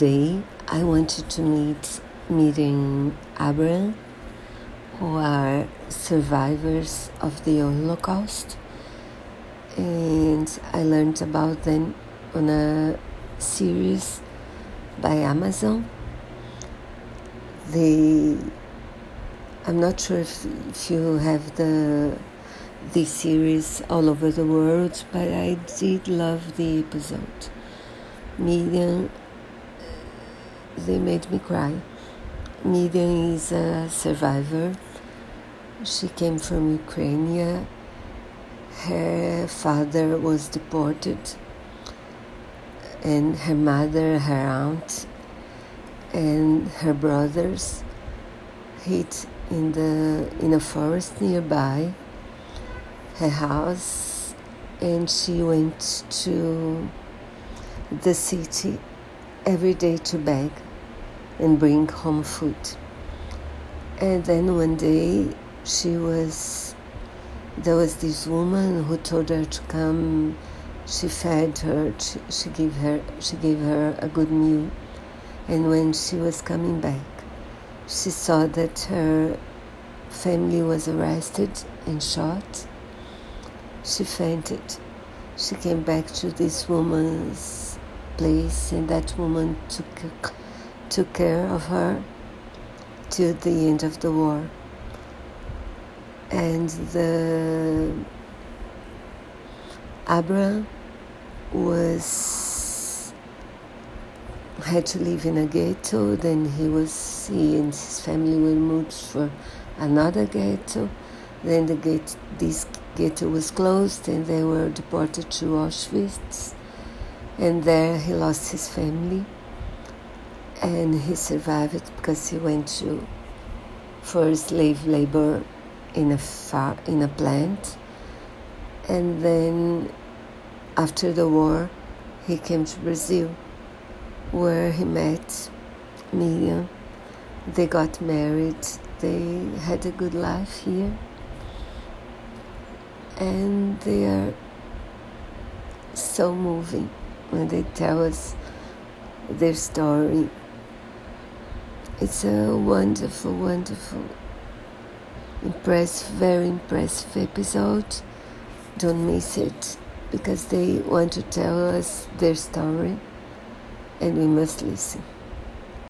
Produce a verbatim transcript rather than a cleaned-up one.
Today I wanted to meet Miriam Abraham, who are survivors of the Holocaust, and I learned about them on a series by Amazon. They, I'm not sure if, if you have the this series all over the world, but I did love the episode. Miriam, they made me cry. Miriam is a survivor. She came from Ukraine. Her father was deported, and her mother, her aunt, and her brothers hid in the in a forest nearby her house, and she went to the city every day to beg and bring home food. And then one day she was there was this woman who told her to come. She fed her, she, she gave her she gave her a good meal, and when she was coming back, she saw that her family was arrested and shot. She fainted. She came back to this woman's place, and that woman took took care of her till the end of the war. And the Abraham was had to live in a ghetto. Then he was he and his family were moved for another ghetto. Then the gate this ghetto was closed, and they were deported to Auschwitz. And there he lost his family, and he survived because he went to for slave labor in a far, in a plant. And then after the war he came to Brazil, where he met Miriam. They got married. They had a good life here, and they are so moving when they tell us their story. It's a wonderful, wonderful, impressive, very impressive episode. Don't miss it, because they want to tell us their story, and we must listen.